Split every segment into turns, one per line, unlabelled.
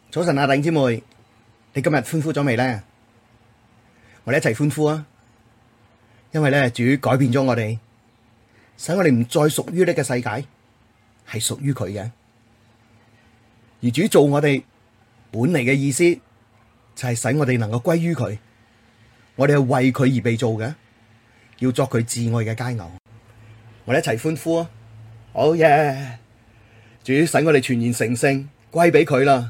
早晨啊，弟兄姊妹，你今日歡呼咗未呢？我哋一齊歡呼啊！因為咧，主改變咗我哋，使我哋唔再屬於呢個世界，係屬於佢嘅。而主做我哋本嚟嘅意思，就係使我哋能夠歸於佢。我哋係為佢而被造嘅，要作佢至愛嘅佳偶。我哋一齊歡呼啊！好耶！主使我哋全然成聖，歸俾佢啦。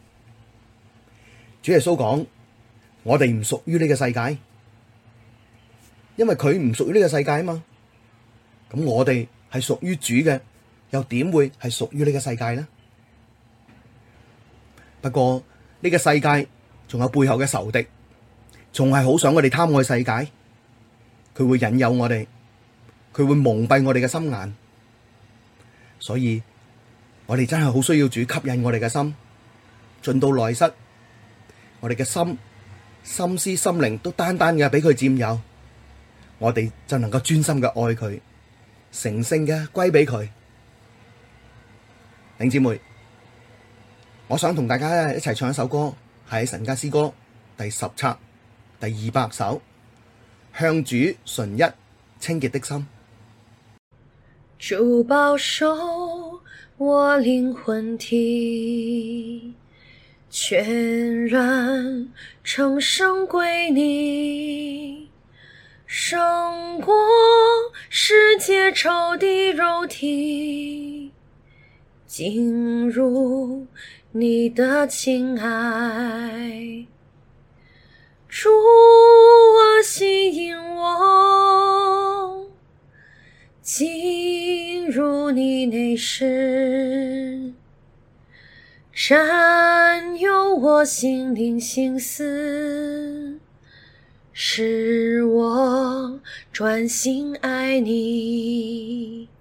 主耶穌講：我哋唔屬於呢個世界，因為佢唔屬於呢個世界啊嘛。咁我哋係屬於主嘅，又點會係屬於呢個世界呢？不過呢個世界仲有背後嘅仇敵，仲係好想我哋貪愛世界，佢會引誘我哋，佢會蒙蔽我哋嘅心眼，所以我哋真係好需要主吸引我哋嘅心，進到內室。我哋嘅心思、心靈都單單嘅俾佢佔有，我哋就能夠專心嘅愛佢，成聖嘅歸俾佢。弟兄姊妹，我想同大家一齊唱一首歌，係神家詩歌第10冊第200首，向主純一清潔的心。
主保守我靈魂體，全然成聖歸你，勝過世界仇敵肉體，進入你的親愛。主啊，吸引我進入你內室，佔有我心靈心思，使我專心愛你。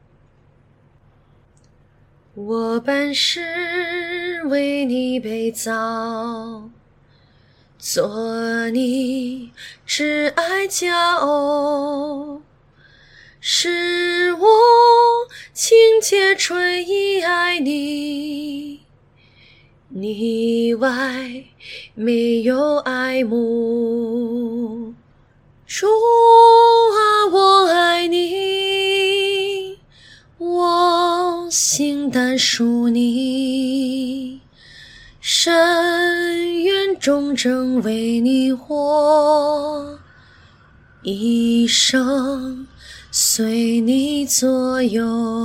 我本是為你被造，做你至愛佳偶，使我清潔純一愛你，你外沒有愛慕。主啊，我愛你，我心單屬你，深願忠貞為你活，一生隨你左右。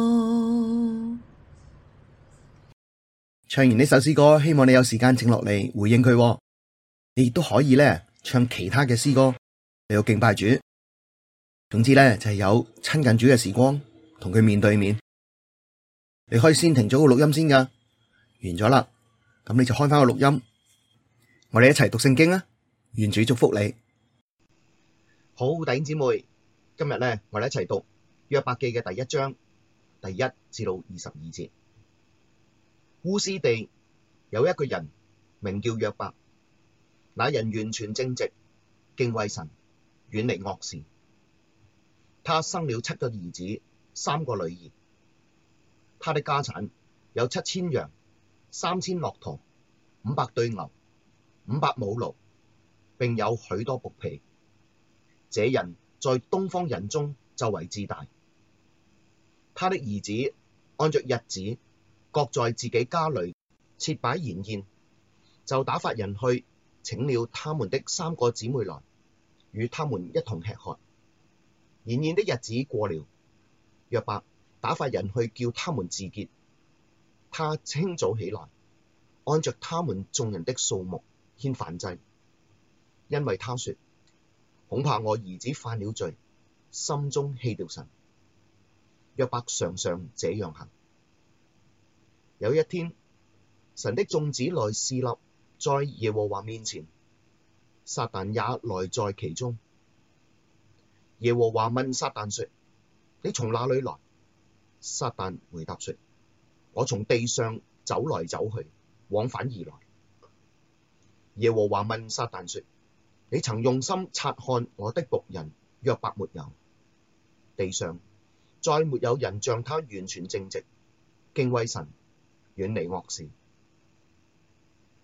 唱完呢首詩歌，希望你有時間靜落嚟回應佢。你亦都可以咧唱其他嘅詩歌嚟到敬拜主。總之咧就係有親近主嘅時光，同佢面對面。你可以先停咗個錄音先噶，完咗啦，咁你就開翻個錄音，我哋一齊讀聖經啊！願主祝福你。好，弟兄姊妹，今日咧我哋一齊讀約伯記嘅第1章第1至到22節。烏斯地有一個人名叫約伯，那人完全正直，敬畏神，遠離惡事。他生了7個兒子，3個女兒。他的家產有7000羊，3000駱駝，500對牛，500母驢，並有許多僕婢。這人在東方人中就為至大。他的兒子按着日子，各在自己家裡設擺筵宴，就打發人去請了他們的3個姊妹來，與他們一同吃喝。筵宴的日子過了，約伯打發人去叫他們自潔。他清早起來，按着他們眾人的數目獻燔祭，因為他說：恐怕我兒子犯了罪，心中棄掉神。約伯常常這樣行。有一天，神的眾子來侍立在耶和華面前，撒但也來在其中。耶和華問撒但說：你從哪裡來？撒但回答說：我從地上走來走去，往返而來。耶和華問撒但說：你曾用心察看我的僕人約伯沒有？地上再沒有人像他完全正直，敬畏神，遠離惡事。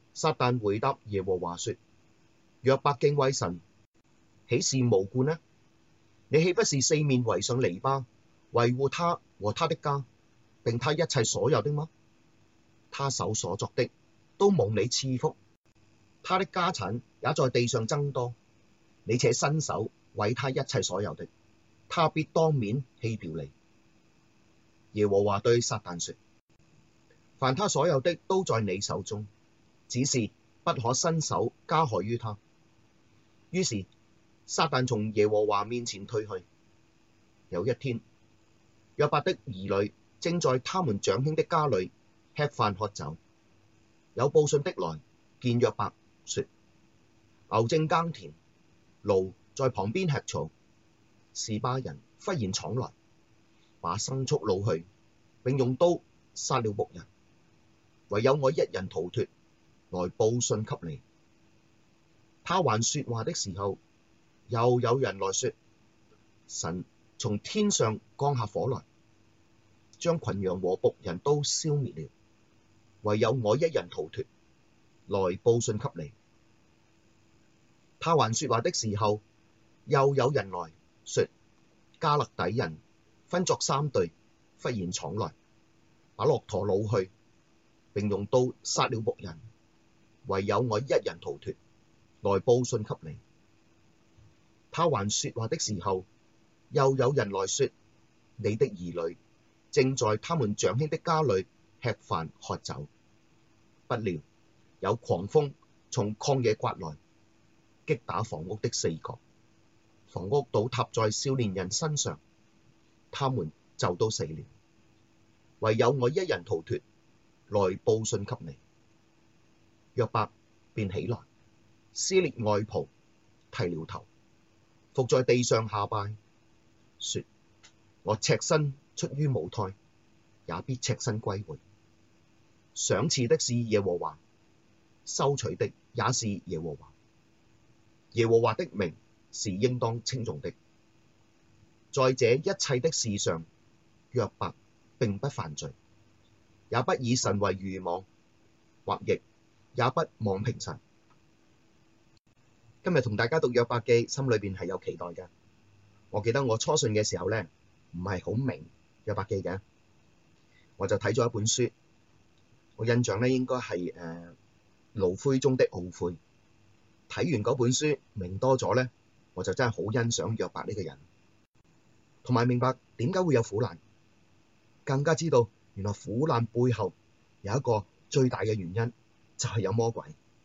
撒旦回答耶和華說：約伯敬畏神，豈是無故呢？你豈不是四面圍上籬笆，維護他和他的家，並他一切所有的嗎？他手所作的都蒙你賜福，他的家產也在地上增多。你且伸手毀他一切所有的，他必當面棄掉你。耶和華對撒旦說：凡他所有的都在你手中，只是不可伸手加害於他。於是撒旦從耶和華面前退去。有一天，約伯的兒女正在他們長兄的家裡吃飯喝酒，有報信的來見約伯，說：牛正耕田，驢在旁邊吃草，示巴人忽然闖來，把牲畜擄去，並用刀殺了牧人，唯有我一人逃脫，來報信給你。他還說話的時候，又有人來說：神從天上降下火來，將群羊和僕人都燒滅了，唯有我一人逃脫，來報信給你。他還說話的時候，又有人來說：迦勒底人分作三隊，忽然闖來，把駱駝擄去，並用刀殺了牧人，唯有我一人逃脫，來報信給你。他還說話的時候，又有人來說：你的兒女正在他們長兄的家裡吃飯喝酒，不料有狂風從曠野颳來，擊打房屋的四角，房屋倒塌在少年人身上，他們就都死了，唯有我一人逃脫，來報信給你。約伯便起來，撕裂外袍，剃了頭，伏在地上下拜，說：我赤身出於母胎，也必赤身歸回。賞賜的是耶和華，收取的也是耶和華。耶和華的名是應當稱頌的。在這一切的事上，約伯並不犯罪，也不以神為愚妄，或譯也不妄評神。今日同大家讀約伯記，心裏邊係有期待嘅。我記得我初信嘅時候咧，唔係好明約伯記嘅，我就睇咗一本書，我印象咧應該係爐灰中的懊悔。睇完嗰本書明多咗咧，我就真係好欣賞約伯呢個人，同埋明白點解會有苦難，更加知道原來苦難背後有一個最大嘅原因，就係有魔鬼。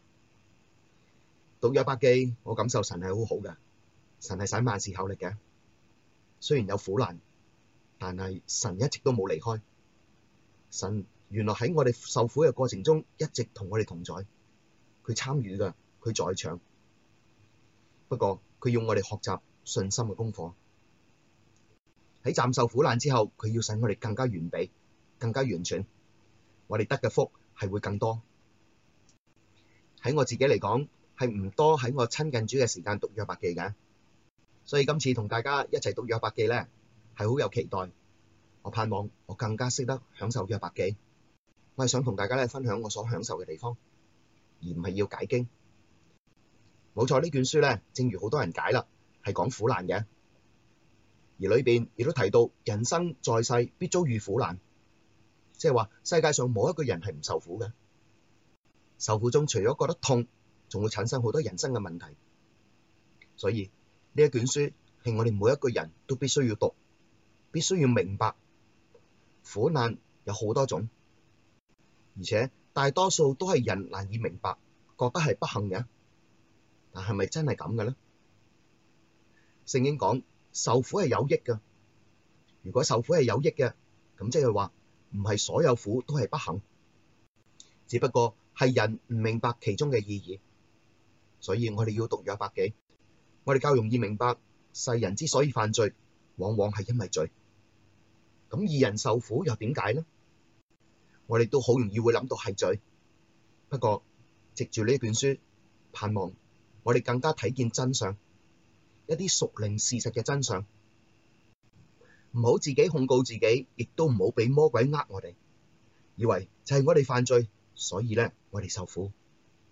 讀約伯記，我感受神係好好嘅，神係使萬事效力嘅。雖然有苦難，但係神一直都冇離開。神原來喺我哋受苦嘅過程中，一直同我哋同在，佢參與㗎，佢在場。不過佢要我哋學習信心嘅功課。喺暫受苦難之後，佢要使我哋更加完備、更加完全，我哋得嘅福係會更多。喺我自己嚟講，係唔多喺我親近主嘅時間讀約伯記嘅，所以今次同大家一齊讀約伯記咧，係好有期待。我盼望我更加識得享受約伯記。我係想同大家咧分享我所享受嘅地方，而唔係要解經。冇錯，呢卷書咧，正如好多人解啦，係講苦難嘅，而裏邊亦都提到人生在世必遭遇苦難，即係話世界上冇一個人係唔受苦嘅。受苦中除咗覺得痛，仲會產生好多人生嘅問題。所以呢一卷書係我哋每一個人都必須要讀，必須要明白苦難有好多種，而且大多數都係人難以明白，覺得係不幸嘅。但係咪真係咁嘅咧？聖經講受苦係有益嘅。如果受苦係有益嘅，咁即係話唔係所有苦都係不幸，只不過係人唔明白其中嘅意義。所以我哋要讀約伯記，我哋較容易明白世人之所以犯罪，往往係因為罪。咁義人受苦又點解呢？我哋都好容易會諗到係罪。不過藉住呢卷書，盼望我哋更加睇見真相，一啲屬靈事實嘅真相，唔好自己控告自己，亦都唔好俾魔鬼呃我哋，以為就係我哋犯罪，所以咧我哋受苦。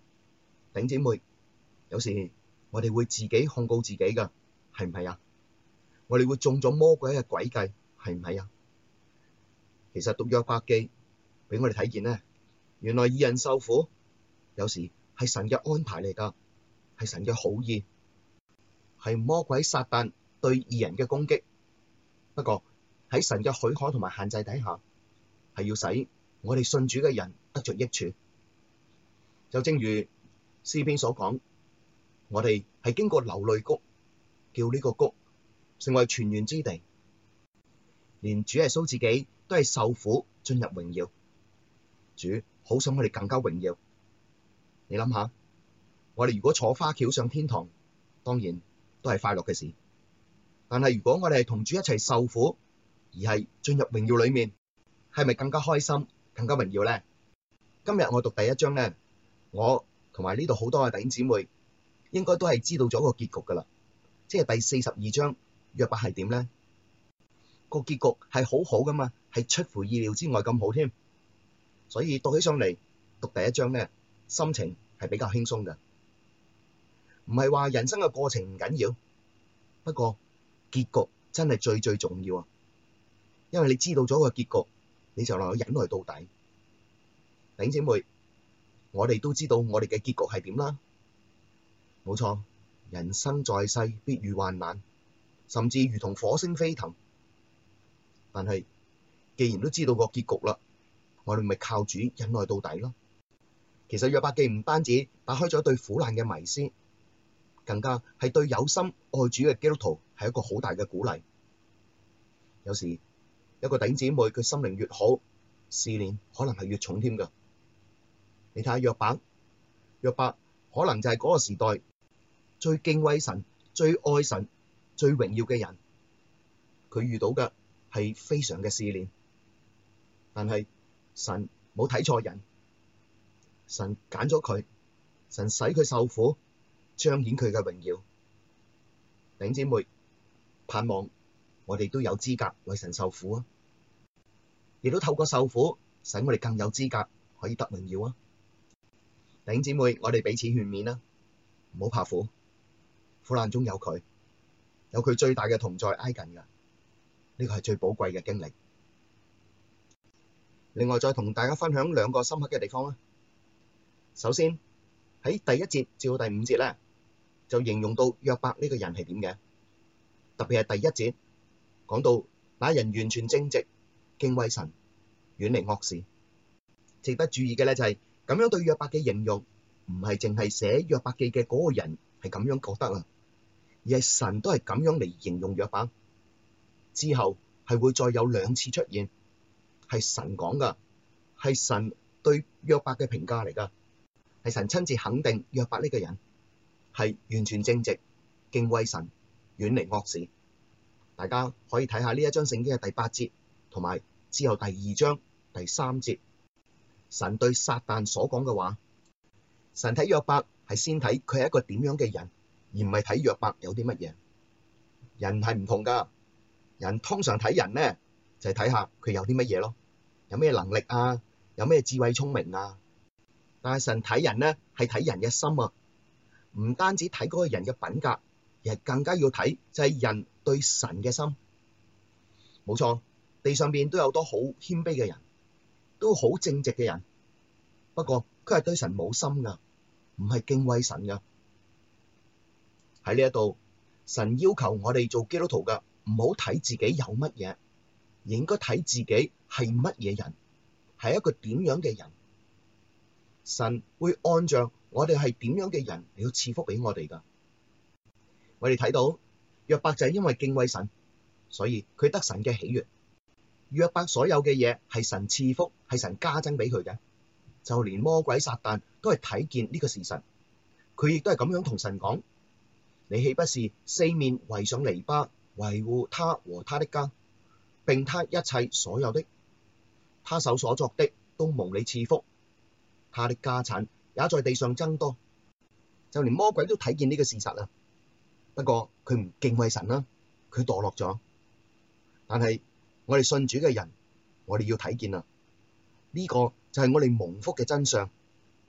頂姊妹，有時我哋會自己控告自己㗎，係唔係啊？我哋會中咗魔鬼嘅詭計，係唔係啊？其實讀約伯記俾我哋睇見呢，原來義人受苦，有時係神嘅安排嚟㗎，係神嘅好意，係魔鬼撒旦對義人嘅攻擊。不過喺神嘅許可同埋限制底下，係要使我哋信主嘅人得着益處。就正如詩篇所講，我哋係經過流淚谷，叫呢個谷成為泉源之地。連主耶穌自己都係受苦進入榮耀，主好想我哋更加榮耀。你諗下，我哋如果坐花轎上天堂，當然都係快樂嘅事。但係如果我哋係同主一齊受苦，而係進入榮耀裡面，係咪更加開心、更加榮耀呢？今日我讀第一章呢，我同埋呢度好多嘅弟兄姊妹應該都係知道咗個結局噶啦，即係第42章約伯係點呢？個結局係好好噶嘛，係出乎意料之外咁好添。所以讀起上嚟，讀第一章呢，心情係比較輕鬆嘅，唔係話人生嘅過程唔緊要，不過結局真係最重要啊！因為你知道咗個結局，你就能夠忍耐到底。弟兄姊妹，我哋都知道我哋嘅結局係點啦。冇錯，人生在世必遇患難，甚至如同火星飛騰。但係既然都知道個結局啦，我哋咪靠主忍耐到底咯。其實約伯記唔單止打開咗對苦難嘅迷思，更加係對有心愛主嘅基督徒係一個好大嘅鼓勵。有時一個弟兄姊妹佢心靈越好，試煉可能係越重添㗎。你睇下約伯可能就係嗰個時代最敬畏神、最愛神、最榮耀嘅人，佢遇到嘅係非常嘅試煉，但係神冇睇錯人，神揀咗佢，神使佢受苦，彰顯佢嘅榮耀。弟兄姊妹，盼望我哋都有資格為神受苦啊！亦都透過受苦，使我哋更有資格可以得榮耀啊！弟兄姊妹，我哋彼此勸勉啦，唔好怕苦，苦難中有佢最大嘅同在挨近噶，呢個係最寶貴嘅經歷。另外再同大家分享兩個深刻嘅地方啦。首先喺第一節至到第五節咧，就形容到約伯呢個人係點嘅，特別係第一節講到那人完全正直，敬畏神，遠離惡事。值得注意嘅咧就係咁樣對約伯嘅形容，唔係淨係寫約伯記嘅嗰個人係咁樣覺得啊，而係神都係咁樣嚟形容約伯。之後係會再有兩次出現，係神講噶，係神對約伯嘅評價嚟噶，係神親自肯定約伯呢個人係完全正直、敬畏神、遠離惡事。大家可以睇下呢一章聖經嘅第8節，同埋之後第2章第3節，神對撒旦所講嘅話。神睇約伯係先睇佢係一個點樣嘅人，而唔係睇約伯有啲乜嘢。人係唔同噶，人通常睇人呢，就係睇下佢有啲乜嘢咯，有咩能力啊，有咩智慧聰明啊。但係神睇人呢，係睇人嘅心啊，唔單止睇嗰個人嘅品格，而係更加要睇就係人對神嘅心。冇錯，地上邊都有多好謙卑嘅人，都好正直嘅人，不過佢係對神冇心噶，唔係敬畏神噶。喺呢一度，神要求我哋做基督徒噶，唔好睇自己有乜嘢，而應該睇自己係乜嘢人，係一個點樣嘅人。神會按照我哋係點樣嘅人嚟到賜福俾我哋噶。我哋睇到約伯就係因為敬畏神，所以佢得神嘅喜悅。約伯所有嘅嘢係神賜福，係神加增俾佢嘅。就連魔鬼撒旦都係睇見呢個事實，佢亦都係咁樣同神講：你豈不是四面圍上籬笆，維護他和他的家，並他一切所有的？他手所作的都蒙你賜福，他的家產也在地上增多。就連魔鬼都睇見呢個事實啊，不過佢唔敬畏神啦，佢墮落咗。但係我哋信主嘅人，我哋要睇見啊，呢個就係我哋蒙福嘅真相。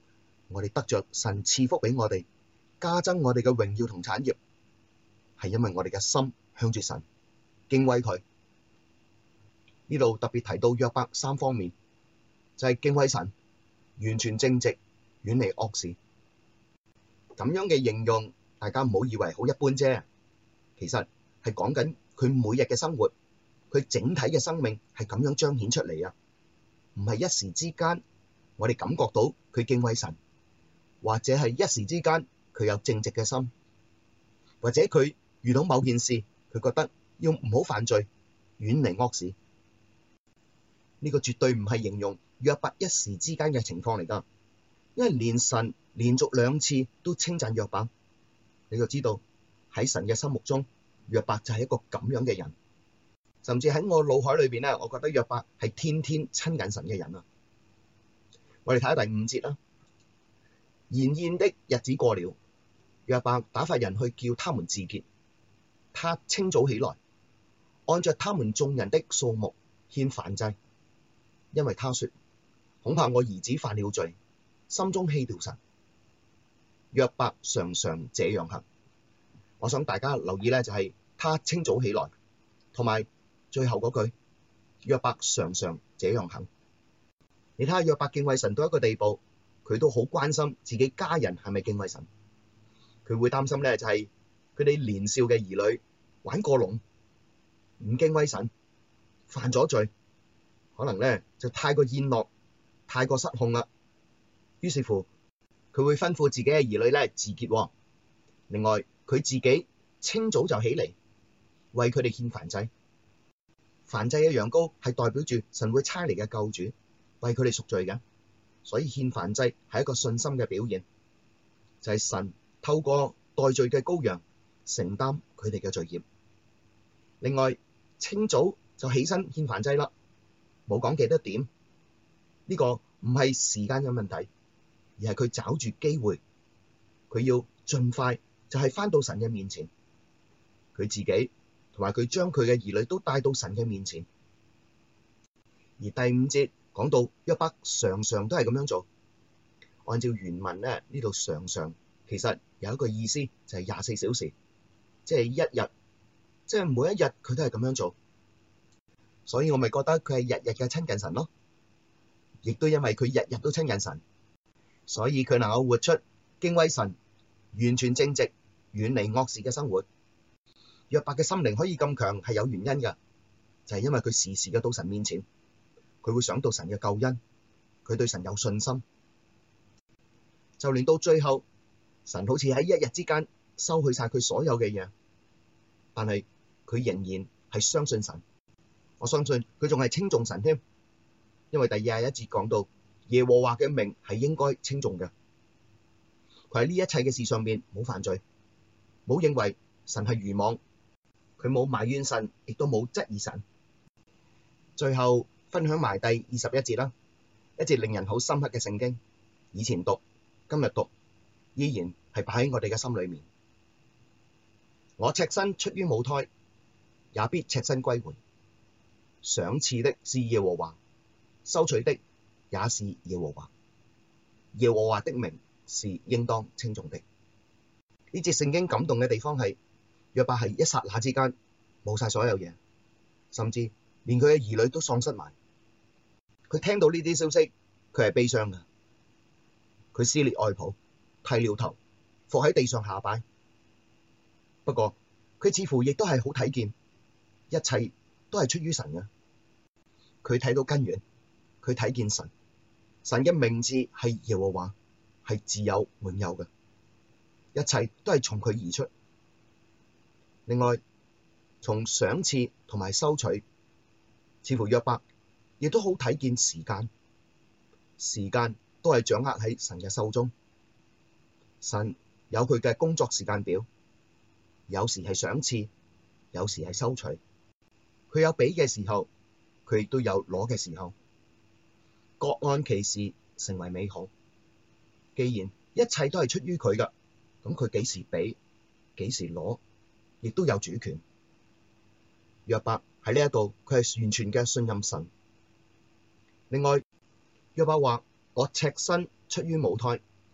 我哋得着神賜福畀我哋，加增我哋嘅榮耀同產業，係因為我哋嘅心向住神，敬畏佢。呢度特別提到約伯3方面，就係敬畏神、完全正直、遠離惡事。咁樣嘅形容，大家唔好以為好一般啫，其實係講緊佢每日嘅生活，佢整體嘅生命係咁樣彰顯出嚟啊！唔係一時之間，我哋感覺到佢敬畏神，或者係一時之間佢有正直嘅心，或者佢遇到某件事，佢覺得要唔好犯罪，遠離惡事。呢個絕對唔係形容約伯一時之間嘅情況嚟㗎，因為連神連續2次都稱讚約伯，你就知道喺神嘅心目中，約伯就係一個咁樣嘅人。甚至喺我腦海裏邊咧，我覺得約伯係天天親近神嘅人啊！我哋睇下第5節啦。筵宴的日子過了，約伯打發人去叫他們自潔。他清早起來，按着他們眾人的數目獻燔祭，因為他說：恐怕我兒子犯了罪，心中棄掉神。約伯常常這樣行。我想大家留意咧，就係他清早起來，同埋最後嗰句，約伯常常這樣行。你睇下約伯敬畏神到一個地步，佢都好關心自己家人係咪敬畏神。佢會擔心咧，就係佢哋年少嘅兒女玩過龍，唔敬畏神，犯咗罪，可能咧就太過宴樂，太過失控啦。於是乎，佢會吩咐自己嘅兒女咧自潔。另外，佢自己清早就起嚟，為佢哋獻燔祭。燔祭嘅羊羔係代表住神會差嚟嘅救主，為佢哋贖罪嘅，所以獻燔祭係一個信心嘅表現，就係神透過代罪嘅羔羊承擔佢哋嘅罪孽。另外，清早就起身獻燔祭啦，冇講幾多點，呢個唔係時間嘅問題，而係佢找住機會，佢要盡快就係返到神嘅面前，佢自己同埋佢將佢嘅兒女都帶到神嘅面前。而第5節講到約伯常常都係咁樣做，按照原文咧，呢度常常其實有一個意思就係24小時，即係一日，即係每一日佢都係咁樣做。所以我咪覺得佢係日日嘅親近神咯，亦都因為佢日日都親近神，所以佢能夠活出敬畏神、完全正直、遠離惡事嘅生活。約伯嘅心靈可以咁強係有原因㗎，就係因為佢時時嘅到神面前，佢會想到神嘅救恩，佢對神有信心。就連到最後，神好似喺一日之間收去晒佢所有嘅嘢，但係佢仍然係相信神。我相信佢仲係稱頌神添，因為第21節講到耶和華嘅名係應該稱頌嘅。佢喺呢一切嘅事上面冇犯罪，冇認為神係愚妄，佢冇埋怨神，亦都冇質疑神。最後分享埋第21節啦，一節令人好深刻嘅聖經，以前讀，今日讀，依然係擺喺我哋嘅心裏面。我赤身出於母胎，也必赤身歸回。賞賜的是耶和華，收取的也是耶和華。耶和華的名是應當稱頌的。呢節聖經感動嘅地方係約伯係一剎那之間冇晒所有嘢，甚至連佢嘅兒女都喪失埋。佢聽到呢啲消息，佢係悲傷嘅，佢撕裂外袍，剃了頭，伏喺地上下拜。不過佢似乎亦都係好睇見，一切都係出於神嘅。佢睇到根源，佢睇見神，神嘅名字係耶和華，係自有永有嘅，一切都係從佢而出。另外，從賞賜同埋收取，似乎約伯亦都好睇見時間，時間都係掌握喺神嘅手中。神有佢嘅工作時間表，有時係賞賜，有時係收取。佢有俾嘅時候，佢亦都有攞嘅時候，各按其時成為美好。既然一切都係出於佢噶，咁佢幾時俾，幾時攞，亦都有主權。約伯喺呢一度，佢係完全嘅信任神。另外，約伯話：我赤身出於母胎，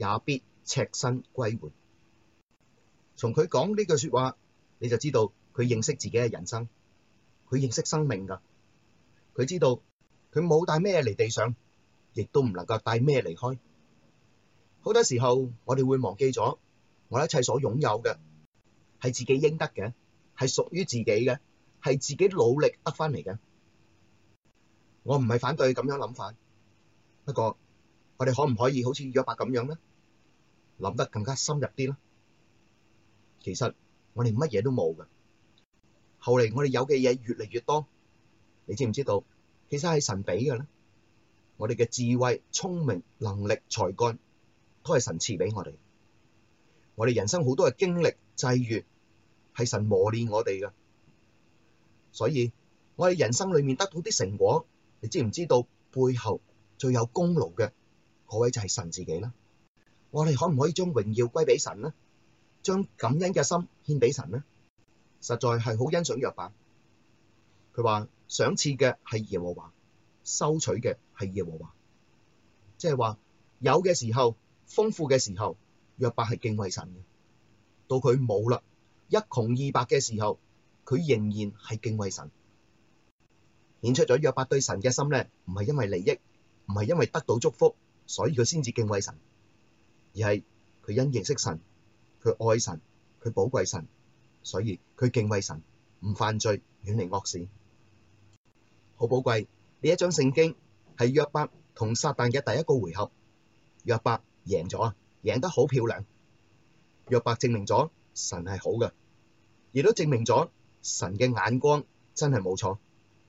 也必赤身歸回。從佢講呢句說話，你就知道佢認識自己嘅人生，佢認識生命噶，佢知道佢冇帶咩嚟地上，亦都唔能夠帶咩離開。好多時候我哋會忘記咗，我一切所擁有嘅係自己應得嘅，係屬於自己嘅，係自己努力得返嚟嘅。我唔係反對咁樣諗法，不過我哋可唔可以好似約伯咁樣呢？諗得更加深入啲呢？其實我哋乜嘢都冇㗎，後嚟我哋有嘅嘢越嚟越多，你知唔知道？其實係神俾嘅咧。我哋嘅智慧、聰明、能力、才幹，都係神賜俾我哋。我哋人生好多嘅經歷、際遇，係神磨練我哋㗎。所以我哋人生裏面得到啲成果，你知唔知道背後最有功勞嘅嗰位就係神自己啦？我哋可唔可以將榮耀歸俾神呢？將感恩嘅心獻俾神呢？實在係好欣賞約伯。佢話賞賜嘅係耶和華，收取嘅係耶和華，即係話有嘅時候，豐富嘅時候，約伯係敬畏神嘅；到佢冇啦，一窮二白嘅時候，佢仍然係敬畏神。顯出咗約伯對神嘅心咧，唔係因為利益，唔係因為得到祝福，所以佢先至敬畏神，而係佢因認識神，佢愛神，佢寶貴神，所以佢敬畏神，唔犯罪，遠離惡事。好寶貴，呢一章聖經係約伯同撒但嘅第一個回合，約伯贏咗啊，贏得好漂亮。約伯證明咗神係好嘅，亦都證明咗神嘅眼光真係冇錯。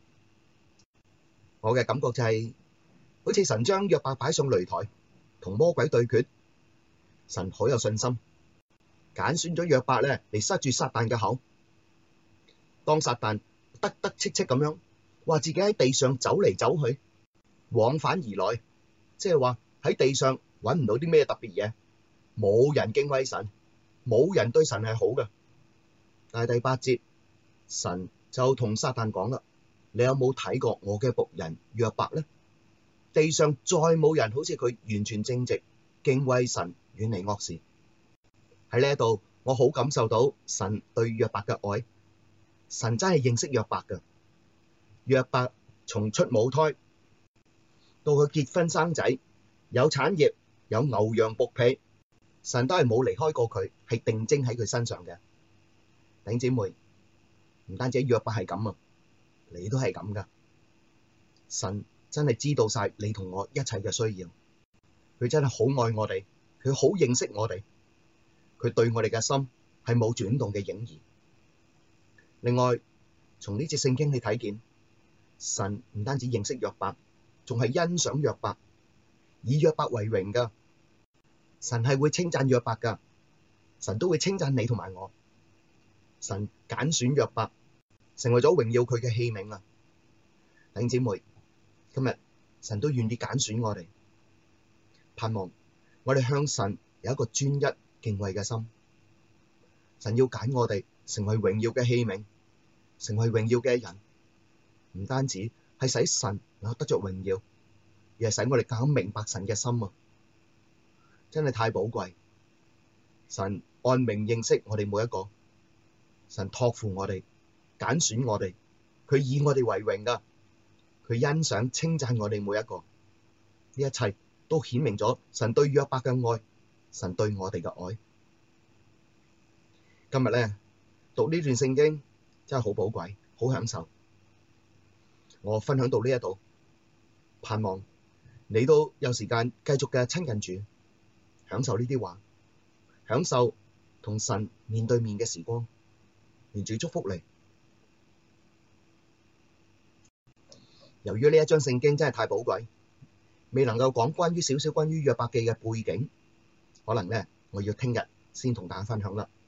我嘅感覺就係，好似神將約伯擺上擂台，同魔鬼對決，神好有信心，揀選咗約伯咧嚟塞住撒但嘅口。當撒但得得戚戚咁樣，話自己喺地上走嚟走去，往返而來，即係話喺地上搵唔到啲咩特別嘢，冇人敬畏神，冇人對神係好嘅。但係第8節，神就同撒但講啦：你有冇睇過我嘅僕人約伯呢？地上再冇人好似佢完全正直，敬畏神，遠離惡事。喺呢一度，我好感受到神對約伯嘅愛。神真係認識約伯㗎。約伯從出母胎到佢結婚生仔，有產業，有牛羊僕婢，神都係冇離開過佢，係定睛喺佢身上嘅。弟兄姊妹，唔單止約伯係咁啊，你都係咁噶。神真係知道晒你同我一切嘅需要，佢真係好愛我哋，佢好認識我哋，佢對我哋嘅心係冇轉動嘅影兒。另外，從呢節聖經你睇見，神唔單止認識約伯，仲係欣賞約伯，以約伯為榮噶。神係會稱讚約伯噶，神都會稱讚你同埋我。神揀選約伯，成為咗榮耀佢嘅器皿啊！弟兄姊妹，今日神都願意揀選我哋，盼望我哋向神有一個專一敬畏嘅心。神要揀我哋成為榮耀嘅器皿，成為榮耀嘅人，唔單止係使神能夠得着榮耀，而係使我哋更明白神嘅心啊！真係太寶貴。神按名認識我哋每一個，神託付我哋，揀選我哋，佢以我哋為榮噶，佢欣賞稱讚我哋每一個，呢一切都顯明咗神對約伯嘅愛，神對我哋嘅愛。今日咧讀呢段聖經真係好寶貴，好享受。我分享到呢一度，盼望你都有時間繼續嘅親近主，享受呢啲話，享受同神面對面嘅時光。願主祝福你。由於呢一章聖經真係太寶貴，未能夠講關於少少關於約伯記嘅背景，可能咧我要聽日先同大家分享啦。